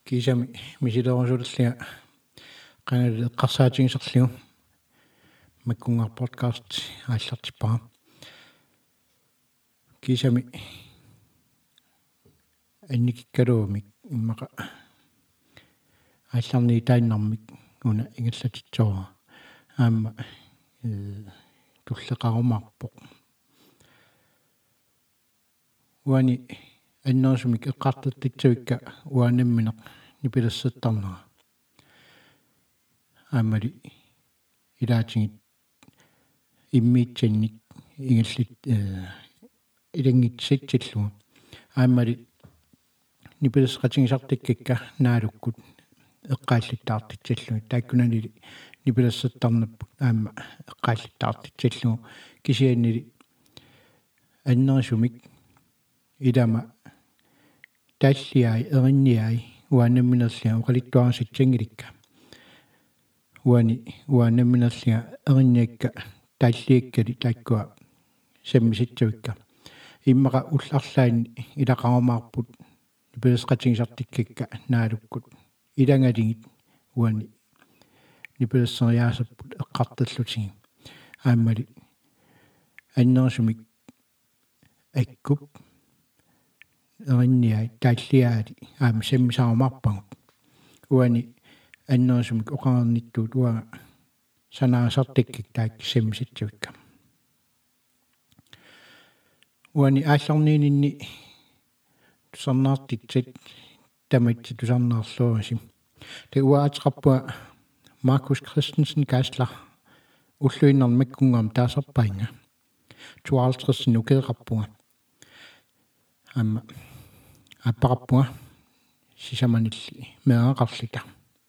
Kisami misilerosullia qanali eqqarsaatigisarligu makkungar podcast aallartipara kisami annikikkaluumik immaqa aallarni taannarmik una ingallatitsoora aamma tulleqarumaarpoq uani annersumik eqqartattitsuikka uanammineq nipilassattarnera aamali ilaatingit immiitsannik ingallit ilangitsitsillua aamali nipilasqatigisartikkikka naalukkut eqqaallitaartitsallugi taakkunanili nipilassattarnapput aamma eqqaallitaartitsallugu kisiannili annersumik ilama talliai erinniai uanamminerlia oqalittuarasitsangilikka uanamminerlia erinniakka talliakkali taakkua sammisitsuikka immaqa ullarlaanni ilaqarumaarput nipilasqatigisartikkikka naalukkut ilangaligit uani nipilasseriaasapput eqqartallutigi aammali annersumik akkup erinniai taalliaali aama sammisaarumaarpagut uani annersumik oqarernittuut uaga sanaasartikkik taakki sammisitsuikka uani aallarniininni tusarnaartitsit tamatsi tusarnaarluurasi te uaatiqarpua Markus Christensen kaaslar ulluinnerni makkungaam taasarpainga 52 ukeeqarpunga aamma appaqarpunga sisamanilli meaqarlita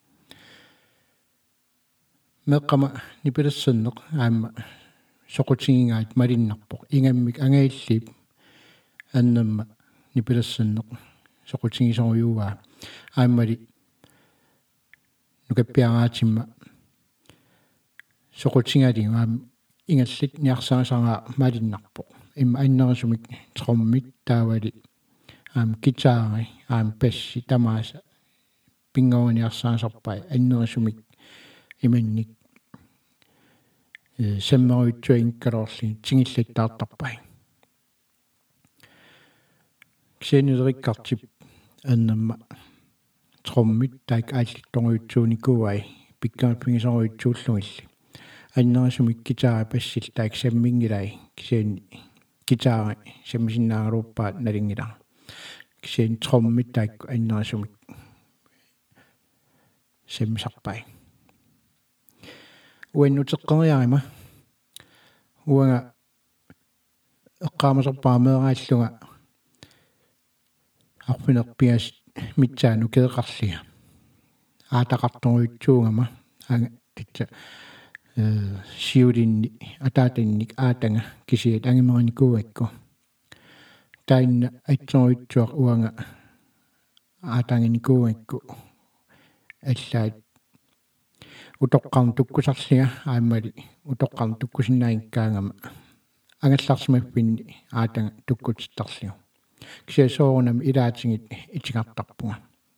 meqqama nipilassanneq aamma soqutigingaat malinnarpoq ingammik angailliip annamma nipilassanneq soqutigisoriuaa aammali nukappiaraatimma soqutigalingu aam ingallit niarsaasara malinnarpoq imma annersumik trommit taavali aam gitaari aam passi tamaasa pingooniarsaasarpai annersumik imannik sammeruitsuinkalorli tingillitaartarpai kisianilerikkартип аннамма троммит таак ааллитторуитсууникуай пиккааппигисоруитсууллугилли аннерисумик гитара пассил таак саммингилай кисиани гитара саммисиннаагалууппаат налингила кисиани троммит таакку аннерисумик саммисарпай уаннутеққериарима уага эққаамасарпаамеерааллуга арпинерпиас митсаану кеэқарлига аатақарторуитсуугама ага титса сиулинни атаатанник аатанга кисиат ангимераникууакку таинна атсоруитсуақ уанга аатангиникууакку аллаат утоққарн туккусарлига ааммали утоққарн туккусиннаангкаангама агалларсимаффинни аатанга туккутиттарлиу кисиасоорунам илаатингит итигартарпунга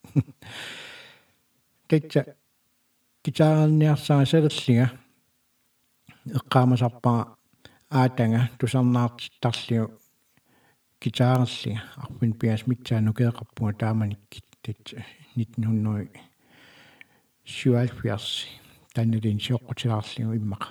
тэтса гитаарниарсаасалерлига эққаамасарпара аатанга тусарнаартиттарлиу гитаарерлига арпин пиас митсаану кеэқарпунга тааманиккит тэтса 1977 таннилин сиоққутилаарлиу иммақа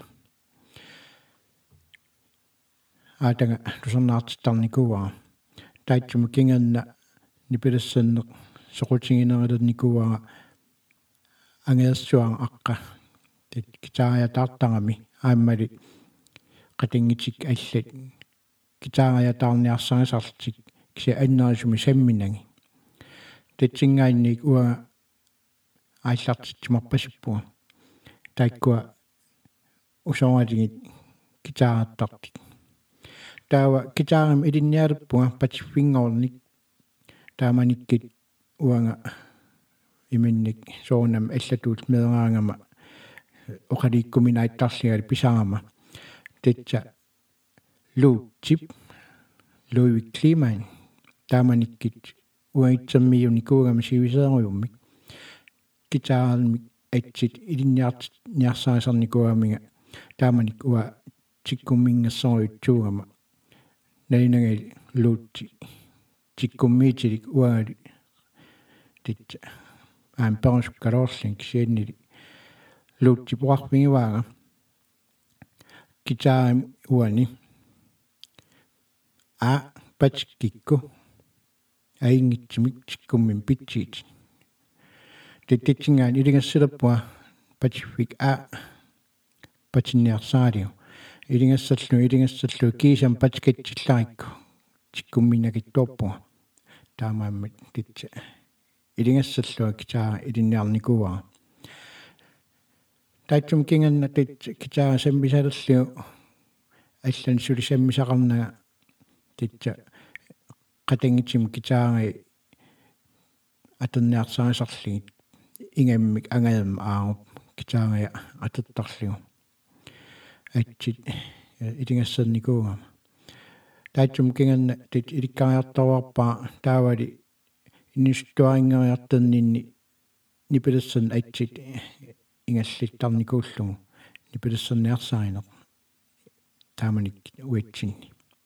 аатанга тусарнаартиттарникуаа таатсума кинганна нипилассаннеқ соқутигинерилерникуаа ангеерсуан аққа тит гитаариатаартарами ааммали қатингитик аллат гитаариатаарниарсарисарлтик киси аннерисуми самминаги татсингаанник уага ааллартитсимарпасиппуга тааккуа усооралигит гитаартартик таава гитаарим илинниалерпуга патиффингорник тааманиккит уанга иминник соонам аллатуут меераангама оқаликкуминаиттарлигали писаарама тэтса луутип Louis Kliman тааманиккит уаитсаммиуникуугама сивисееруйуммик gitaaran atsit ilinniarsaisarnikuamiga taamanik ua tikkummingassoriutsuugama nalinangali luutsi tikkummiitilik uagali titsa perusukkalorlin kisiannili luutsi puarpingivaaga gitaarim uani patikikku aingitsimik tikkummin pitsiit tittingaan ilingassalappua patifik patinniarsaaliu ilingassallu kiisam patikatsillarikku tikkumminagittuarpua taamaammat titsa ilingassallua kitaa ilinniarnikuvaa taitsum kinganna titsa kitaa sammisalerliu allan sulisammisaqarnaga titsa qatangitim kitaangi atanniarsaisarligit ingammik angalma aarup kitaangia atattarligu atsit ilingassannikuugama taitsum kinganna tit ilikkariartaruarpaa taavali innistuaringeriartanninni nipilassan atsit ingallittarnikuullugu nipilassarniarsaarinaq taamanik uitsinni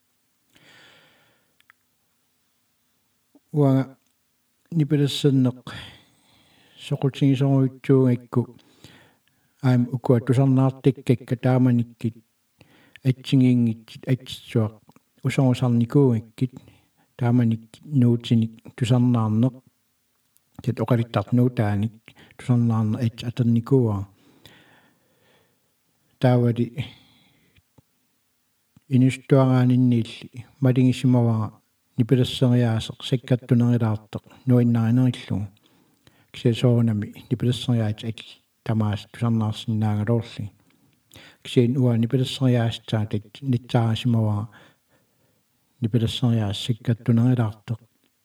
uanga nipilassanneq soqutigisoruutsuugakku aam ukua tusarnaartikkakka taamanikkit atsingiingitsit atsitsuaq usorusarnikuugakkit taamanik nuutinik tusarnaarneq tit oqalittarnuutaanik tusarnaarne atannikuuaa taavali inistuaraaninniilli malingisimavaa nipilasseriaaseq sakkattunerilaarteq nuinnarineriillugu kisiasoorunami nipilasseriaat tamaas tusarnaarsinnaangalorli kisiin ua nipilasseriaastaa nitsaarasimavaa nipilasseriaas sakkattunerilaarteq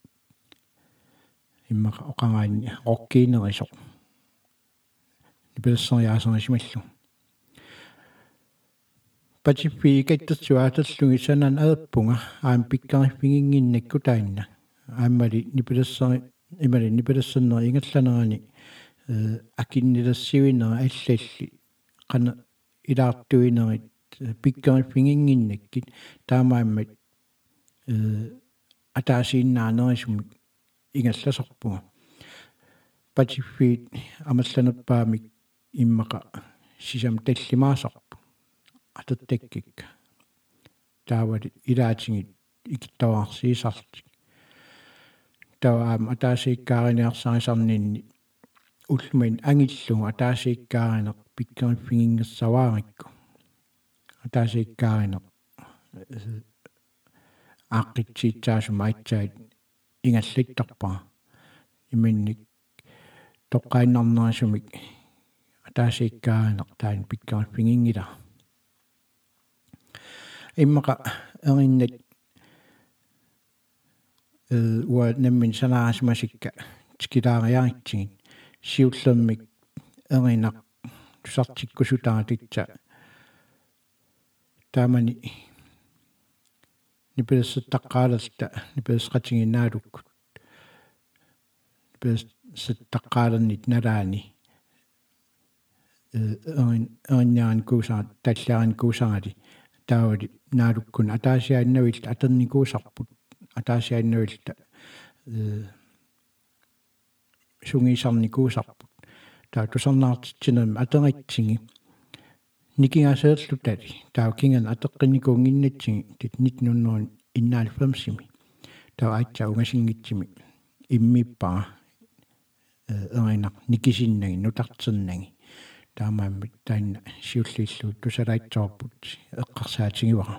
immaqa oqangaanni roqkiinerisoq nipilasseriaaserisimallu patiffi ikattatsuaatallugi sanan aappunga aam pikkarifinginginnakku taanna aammali nipilassanneri ingallanerani akinnilassiuinera allalli qana ilaartuinerit pikkarifinginginnakkit taamaammat ataasiinnaanerisumik ingallasorpuga patiffiit amallaneppaamik immaqa sisam tallimaasarpu atattakkikka taavali ilaatingit ikittavarsiisartik tawaam ataasiikkaariniarsaarisarninni ullumin angillugu ataasiikkaarineq pikkarifingingassavaarikku ataasiikkaarineq aaqqitsitsaassuma atsaat ingallittarpaa iminnik toqqaannarnerisumik ataasiikkaarineq taan pikkarifinginngila immaqa erinnak ua nammin sanaarasimasikka tikilaariaritsigit siullermik erinaq tusartikkusutaatitsa taamani nipilassattaqqaalerta nipilasqatiginnaalukkut nipilassattaqqaalernit nalaani erinniaran kuusaat tallaaran kuusaali taavali naalukkun ataasiaannavilta aternikuusarput ataasiaannavilta sungiisarnikuusarput taa tusarnaartitsinami ateritsingi nikingaseerlutali taa kingan ateqqinikuunginnatsingi tit 1991 taa aitsa ungasingitsimi immippaa erinaq nikisinnagi nutarternagi taamaammat taanna siulliilluut tusalaitsoorput eqqarsaatigiwara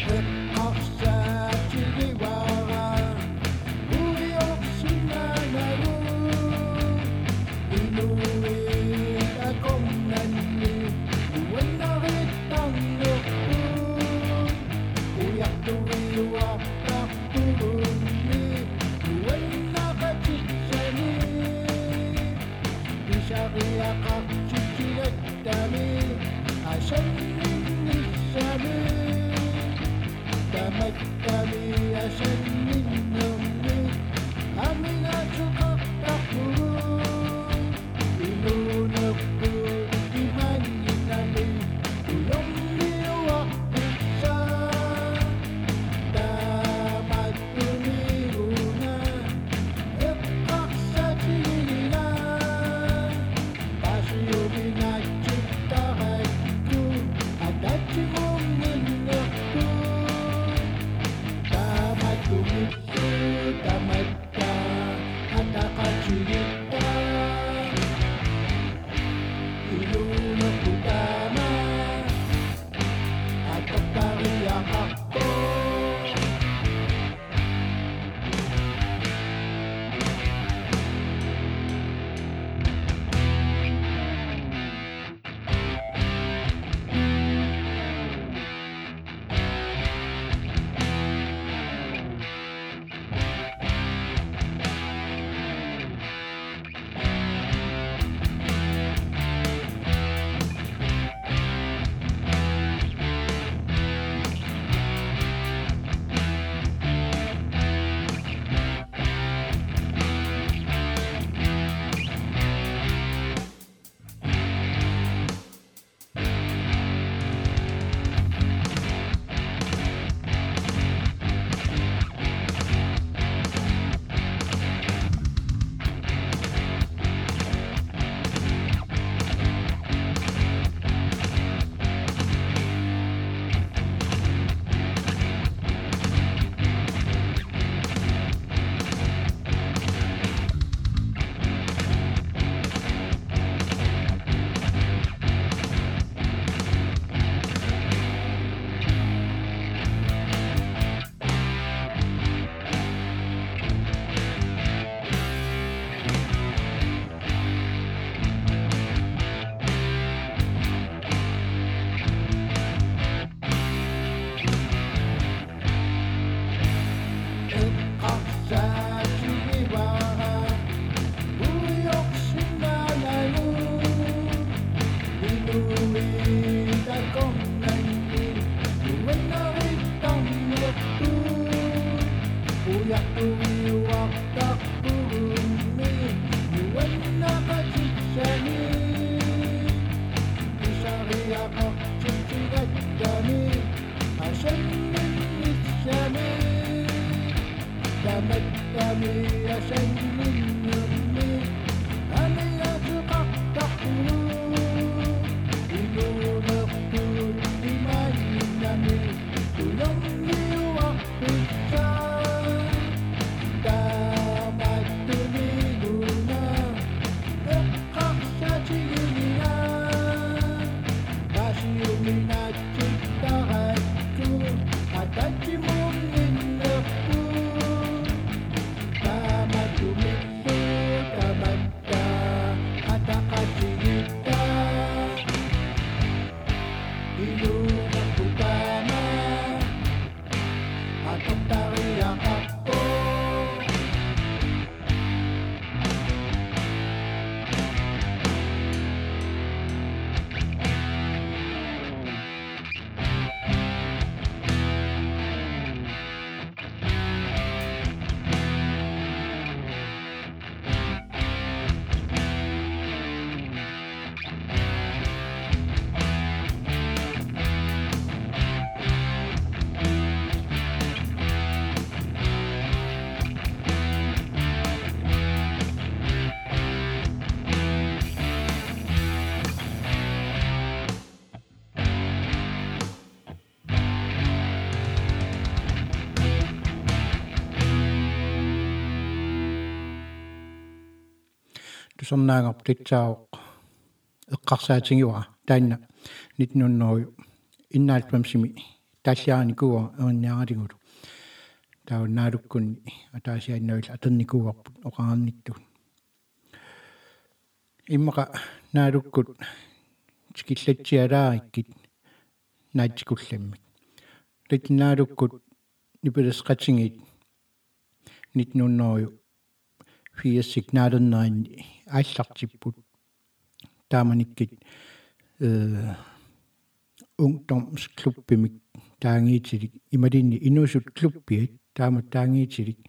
tusarnaangarpitsaaq eqqarsaatigiwa taanna 1900 innaalpamsimi таллиааникуа эринниаратигулу тауннаалуккунни атаасианнавил атерникуарпут оқарнитту иммақа наалуккут скиллатсиалаариккит наатикулламмик литнаалуккут нипилесқатингит нитнуннорю фиассигнаалернеринни ааллартиппут тааманиккит ungdomsklubбимик таангиитилик ималинни инуусут клуббиат таама таангиитилик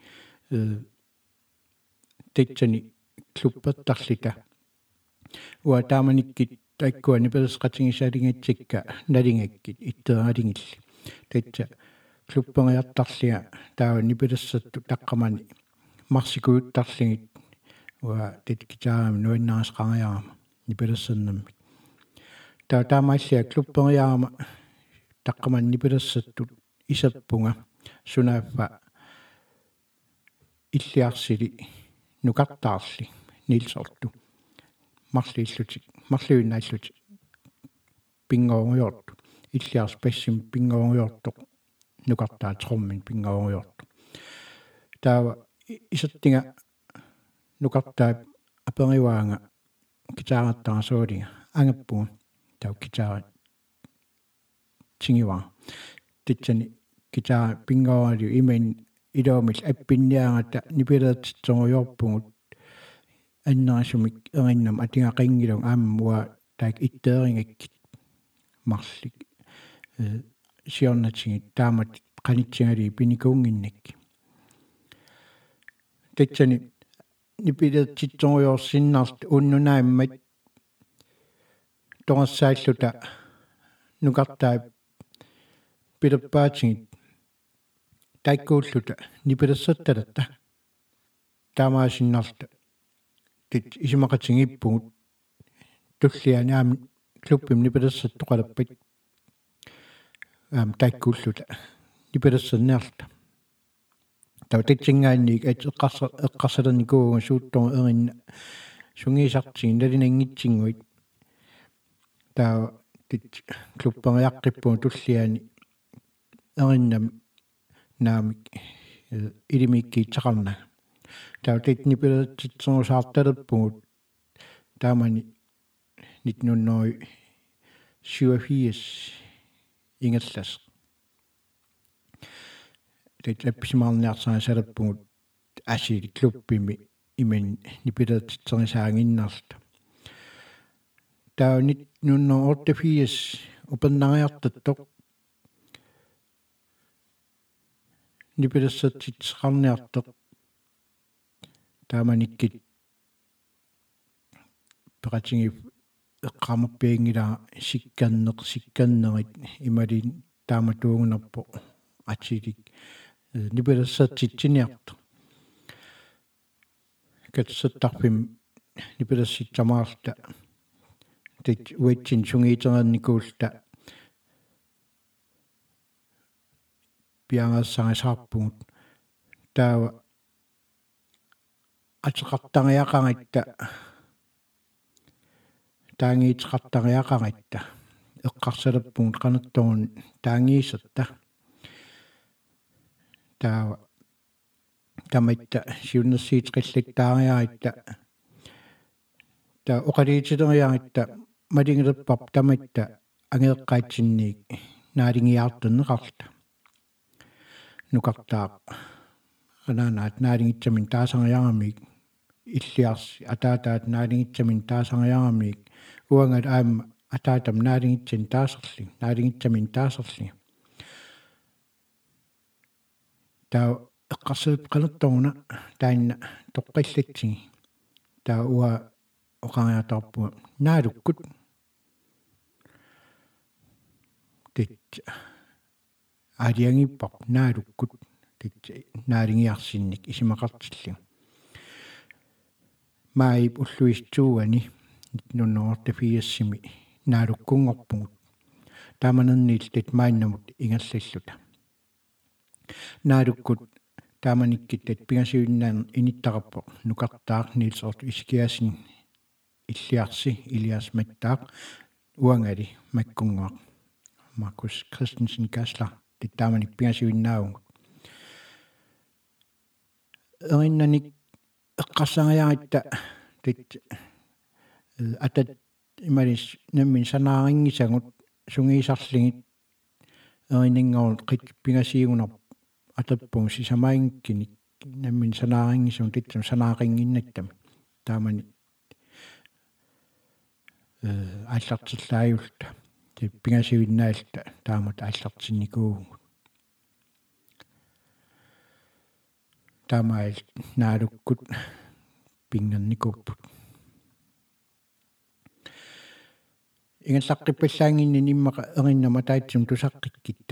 тэтсани клубпертарлита уа тааманиккит таиккуани пелесқатингисаалингатсикка налингаккит itteerалингилли тэтса клубпериартарлиа таава нипилессатту таққамани марсикуuttарлигит уа тэткитаарами нуиннаарисқариарама нипилессернамми таамааллиа клубпериарама таққаман нипилессаттут исерпунга сунааффа иллиарсили нукартаарли нилсорту марлиуннааллути пингоориорту иллиарс пассим пингоориортоқ нукартаа троммин пингоориорту таава исертинга нукартаа апериваанга китаараттарасуулинга ангаппуга тау китаара тингива титсани китаара пингоориу имэн илоомил аппинниарата нипилеертитсориорпугут аннерасумик эриннам атингақингилун ааммуа таак itteeringakкит марлик сиорнатингит таамат qanitsingali pinikungиннакки титсани нипилеертитсориорсиннарт уннунааммат торсааллута нукартаа пилерпаатингит таиккууллута нипилессатталатта таамаасиннарта тит исимақатингиппугут туллианаами клуббим нипилессаттоқалаппат таиккууллута нипилессерниарта тав титсингаанник эққарсалерникууга сууттор эринна сунгисартигин налинангитсингуит таа тит клубпериаққиппуг туллиани эриннам наамик илимиккиитсақарна таа тит нипилеертитсоорсаарталерпугут таамани 1987 ингаллас тит апписимаарниарсаасалерпугут асили клуббими имен нипилеертитсорисаагиннарта таа 1988 упернариартаттоқ нипилессатситсеқарниартоқ тааманиккит пеқатинги эққамерпиангилаа сикканнерит ималин тааматуугунерпо атилик нипилессатситсиниарто катсаттарпим нипилесситсамаарта тит уитсин сунгиитерерникуулта пиангассарисаарпугут таава атеқартариақаритта таангиитеқартариақаритта эққарсалерпугут қанерторун таангиисерта таава таматта сиуннерсиитеқиллаттаариаритта таа оқалиитилериаритта малингилерпарп таматта ангеэққаатсинниик наалингиартуннеқарта нукартаа ананаат наалингитсамин таасариарамик иллиарси атаатаат наалингитсамин таасариарамик уангат аама атаатам наалингитсин наалингитсамин таасерли таа эққарсалп қанерторуна таанна тоққиллатсиги таа уа оқариатарпуга наалуккут тит ариангиппар наалуккут тит наалингиарсинник исимақартиллу маип уллуистууани 1984 наалуккунгорпугут тааманерниил тит маиннамут ингаллаллута наалуккут тааманиккиттат пигасиуннаан иниттараппо нукартаақ нилсорт искиасин иллиарси Elias Mattaaq уангали маккунгуақ Markus Christensen Gassler тааманик пигасуиннаагу эриннаник эққарсариаритта тит атат ималис наммин санаарингисагут сунгиисарлигит эриннингорут қит пигасиигунар атаппун сисамаингкиник наммин санаарингисун титсам санаарингиннаттами таамани ааллартиллааюлта ти пигасуиннаалта таамат ааллартинникуугу таамаил наалуккут пингерникуппут ингерлаққиппаллаангинни ниммақа эриннама таатсум тусаққиккитта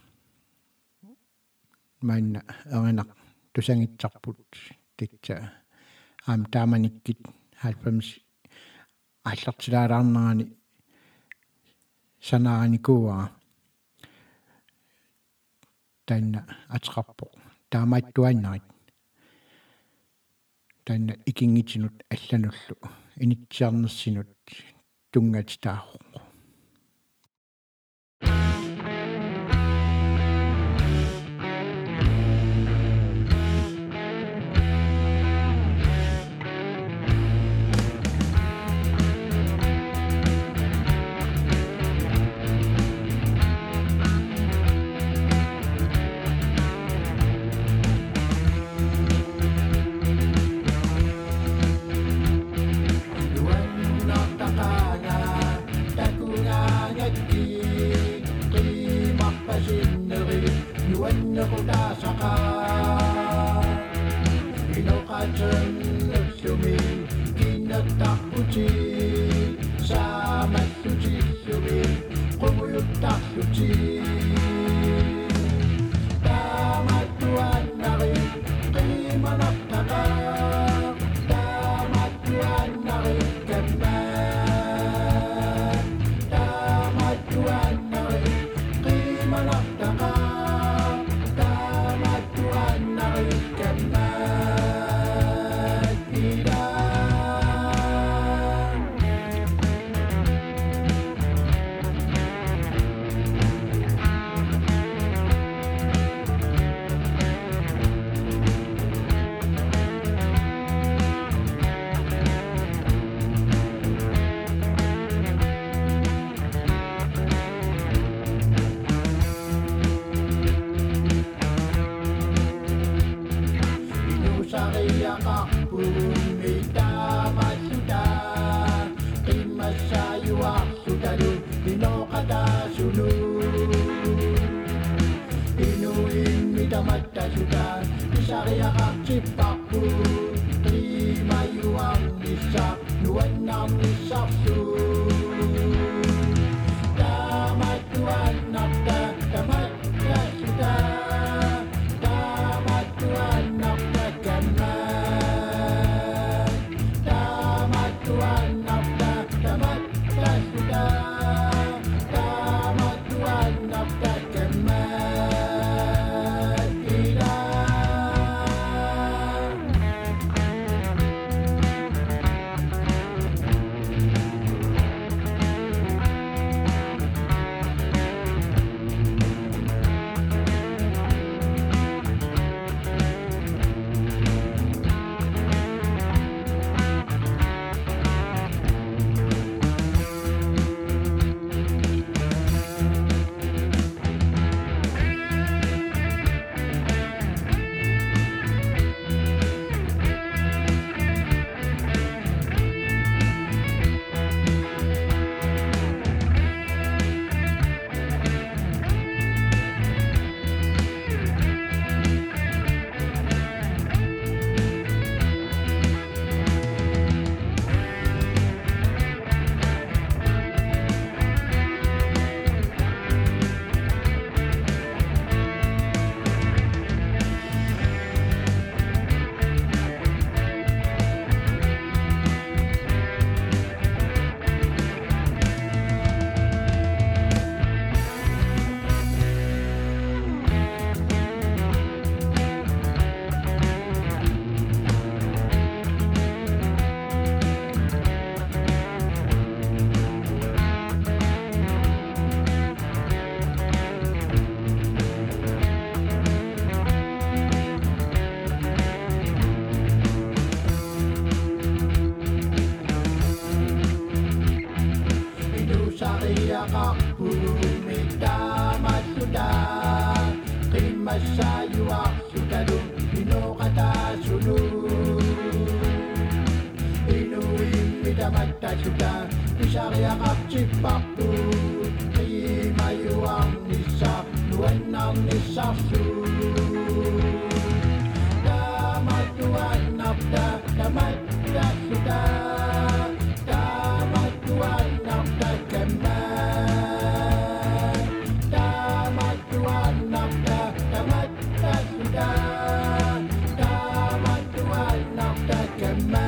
маанна эринақ тусангитсарпут титса аам тааманиккит 90 ааллартилаалаарнерани санааникуа танна атеқарпо таамааттуаннарит танна икингитинут аллануллу инитсиарнерсинут тунгатитаахо Masayuarsutalu inoqataasunu inuimmitamattassuta isariaqartippartu qiimayuarnissa nuannarnissarlu taamatuannarta tamattassuta taamatuannarta kamma taamatuannarta tamattassuta taamatuannarta kamma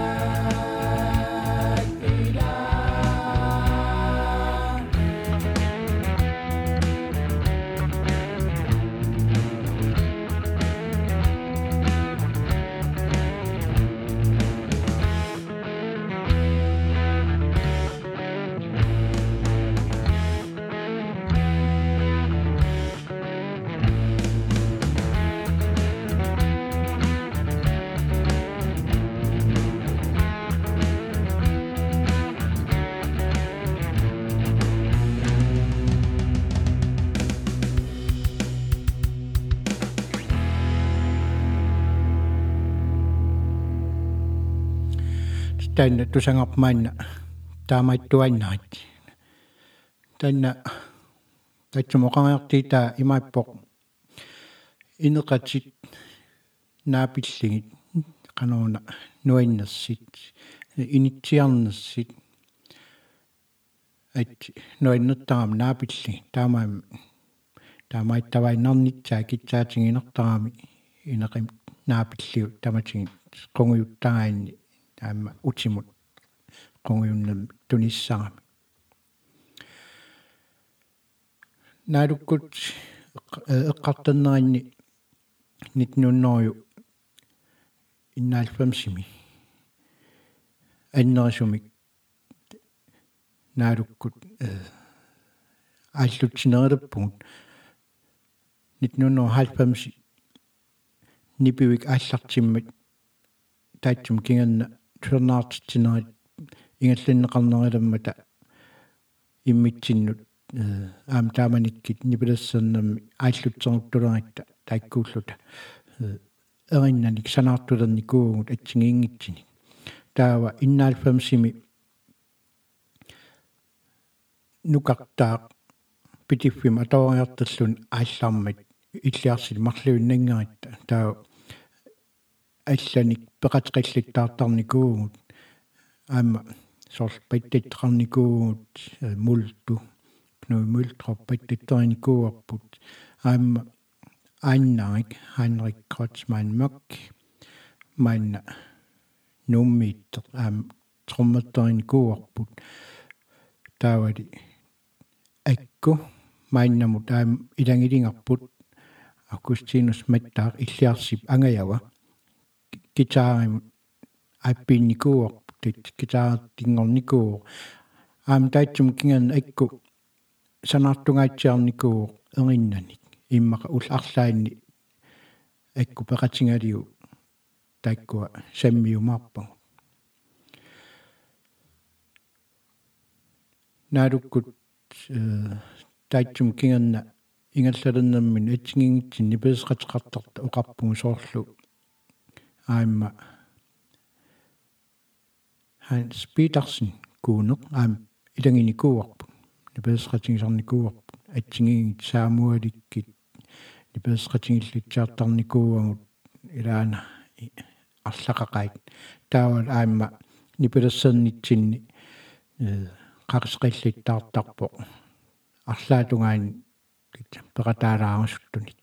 Tänne tusangarmaanna taamaittuannaat tanna tatsumoqangertii taa imaippoq ineqatit naapilligit qanuuna nuinnersit initsiarnersit at nuinnertaram naapilligit taamaittavainnernitsaa kitsaatinginertarami ineqim naapilliu tamatigit qunguyuttaraanni taama utimut qunguyunnam tunissarami naadukkut eqqartanneranni nitnunnoruyu innaalfamsimi annerisumik naadukkut ааллутсинерилеппугут 1990 нипивик ааллартиммат таатсум кинганна туернаартитсинерит ингаллиннеқарнериламмата иммитсиннут аам тааманиккит нипилассернамми ааллутсернуттулеритта тааккууллута эриннаник санаартулерникуугут атсигиингитсини таава иннаалфамсими нукартаа питиффим аториартерлун ааллаармат иллиарсил марлуиннангеритта таа алланик пеқатеқиллиттаартарникуугут аама сорл паттаттеқарникуугут мулту кнуй мултроппаттатторникууарпут аама аннарик Henrik Kreutzmann Møck манна нуммииттер аама тромматторникууарпут таавали акку майннамут аама илангилингарпут Augustinus Mattар иллиарсип ангаява гитааримут аппинникууарпут гитаартингорникуу аама таатсум кинган акку санаартунгаатсиарникуу эриннаник иммака улларлаанни акку пеқатингалиу тааккуа саммиумаарпагу наадуккут таатсум кинганна ингаллалернаммин атсигингитсин нипесеқатеқартарта оқарпугу соорлу аама Hans Petersen куунеқ аама илангиникууарпу нипесеқатингисарникууарпу атсигингит саамуаликкит нипесеқатингиллитсаартарникууагут илаана арлақақаит таавал аама нипелассернитсинни қақисқиллиттаартарпо арлаатунгаани пеқатаалаарусуттуник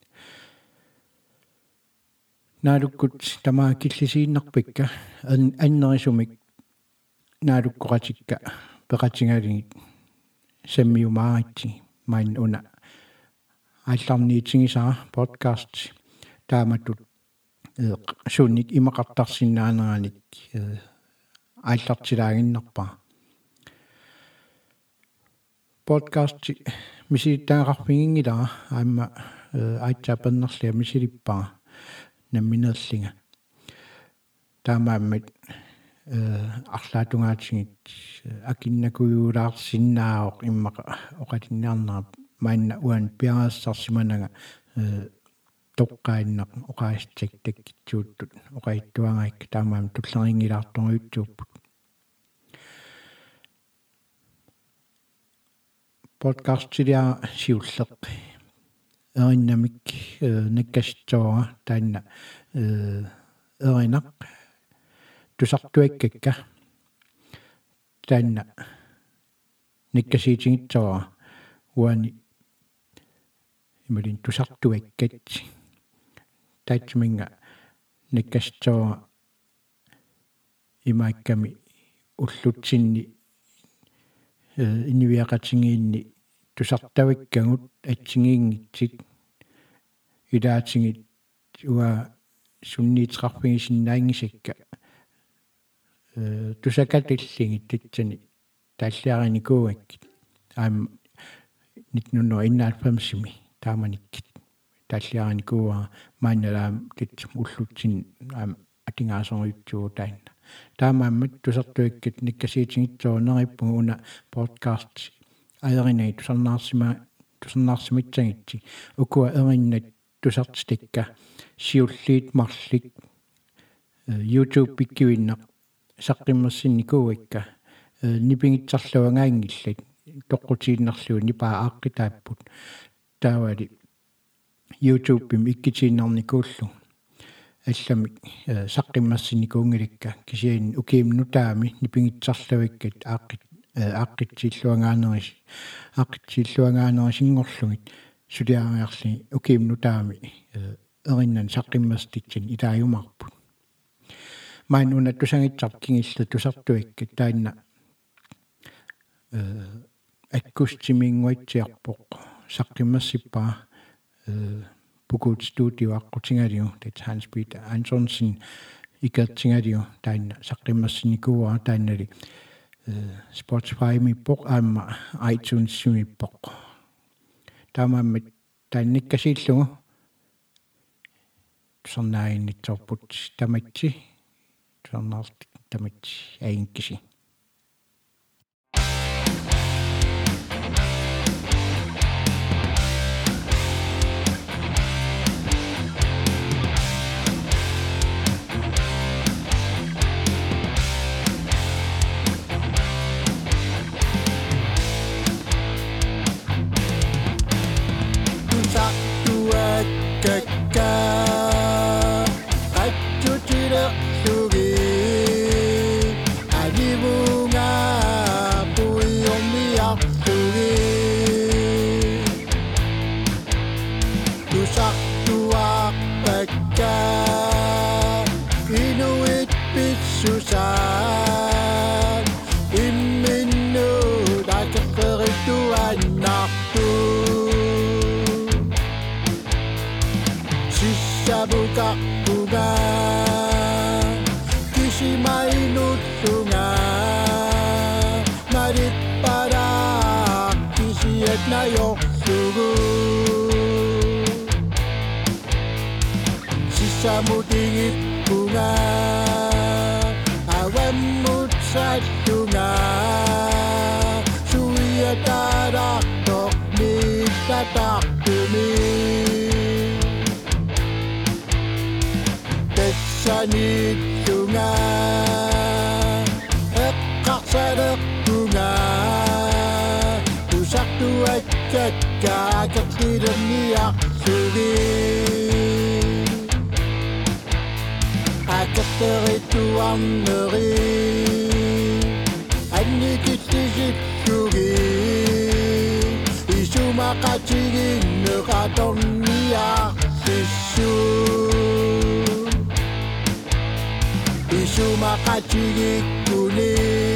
наалуккут тамаа киллисииннарпикка аннерисумик наалуккоқатикка пеқатингалигит саммиумааритси майн уна аалларниитсигисаа подкаст тааматут суунник имақартарсиннаанерааник ааллартилаагиннарпаа подкаст миситтаагаарфигингилара аама аатсаапаннерлиа мисилиппаа намминерлинга таамааммат арлаатунгаатсигит акиннакуюулаарсиннаавоқ иммақа оқатиннаарнера маанна уан пиаассарсиманага toqqainneq oqaistaktakitsuuttut oqaittuangaik taamaam tulleringilaartoruyutsuupput podcasttilia siulleq erinnamik nakkassitsoora taanna erinaq tusartuikkakka taanna nakkassiitingitsoora uani imalin tusartuikkat taatsuminga nakkassitsoora imaakkami ullutsinni inniviaqatingiinni tusartavikkagut atsingiingitsik ilaatingit uа sunniiтерарфигисиннаангисакка тусакатиллингит татсани тааллиариникуугаккит аам 1991 тааманиккит тааллиариникууа маанналаам татсум уллутсин аам атингаасориутсуу таанна таамааммат тусартуиккит никкасиитингитсоонериппугу уна подкаст аеринай тусарнаарсимитсагитси укуа эриннат тусартстикка сиуллиит марлик YouTube пиккивиннақ саққиммерсинникууикка нипингитсарлуангаангиллат тоққутииннарлуи нипаа ааққитааппут таавали YouTube пим иккитииннарникууллу алламик саққиммерсинникуунгиликка кисиин укиимнутаами нипингитсарлуиккат ааққитсиллуангаанерисингорлугит сулиариарли укиимнутаами эриннан саққиммерститсин илааюмарпут маан уна тусангитсарп кингилла тусартуиккат таанна аккустимингуатсиарпоқ саққиммерсиппаа Pukut studio аққутингалиу тат Hans Peter Antonsen икертингалиу таанна саққиммерсиникуа тааннали Spotify миппоқ аама iTunes миппоқ таамааммат таанниккасииллугу сорнаиннитсорпут таматси сорнаартик таматси аинкиси Samudingit bunga awan mutsat dunga suya tarak tok ni tatak tumi tesanit dunga ekak sadak bunga tusak tuat kakak kakidam niak sugi Akaterituanneri annikittisittugi isumakatiginneqatorniartissu isumakatigikkuni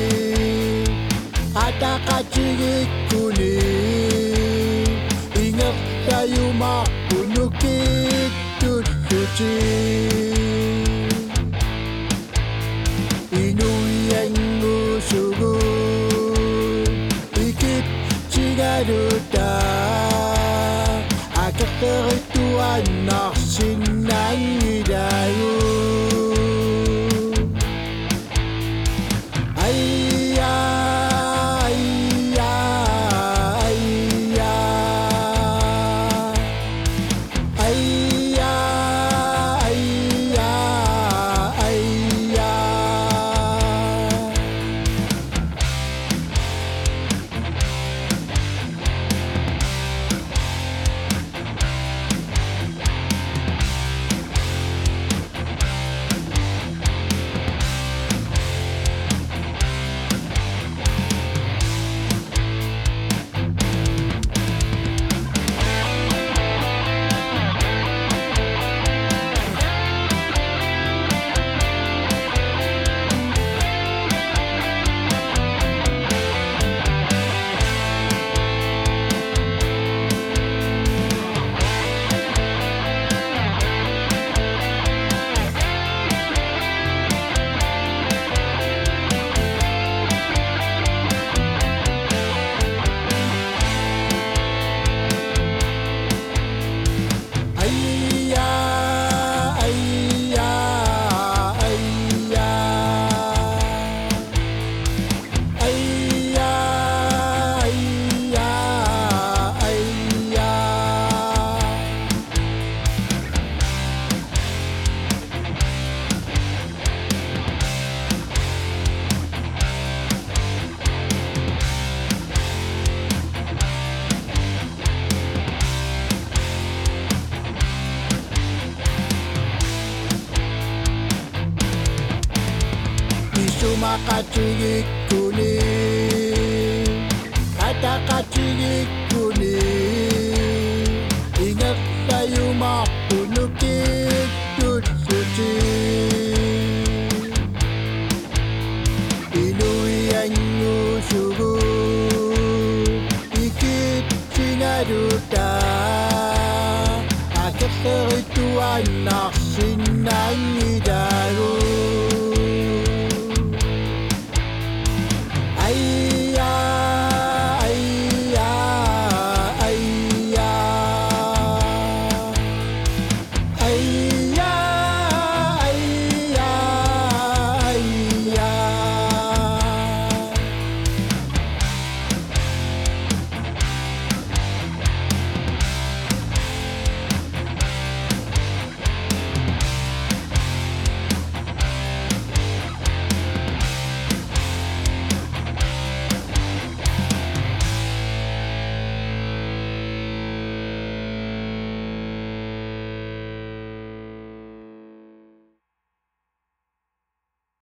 ataqatigikkuni ingertayumarpunukittutti Akaterituan narsinangidayu Ayya ayya ayya ayya makachigik kuning katakachigik kuning ingat tayo mapunukit tutsuchi inuyan sugu ikit sinaduta akit serituan naksinang idaru ayya ayya ayya ayya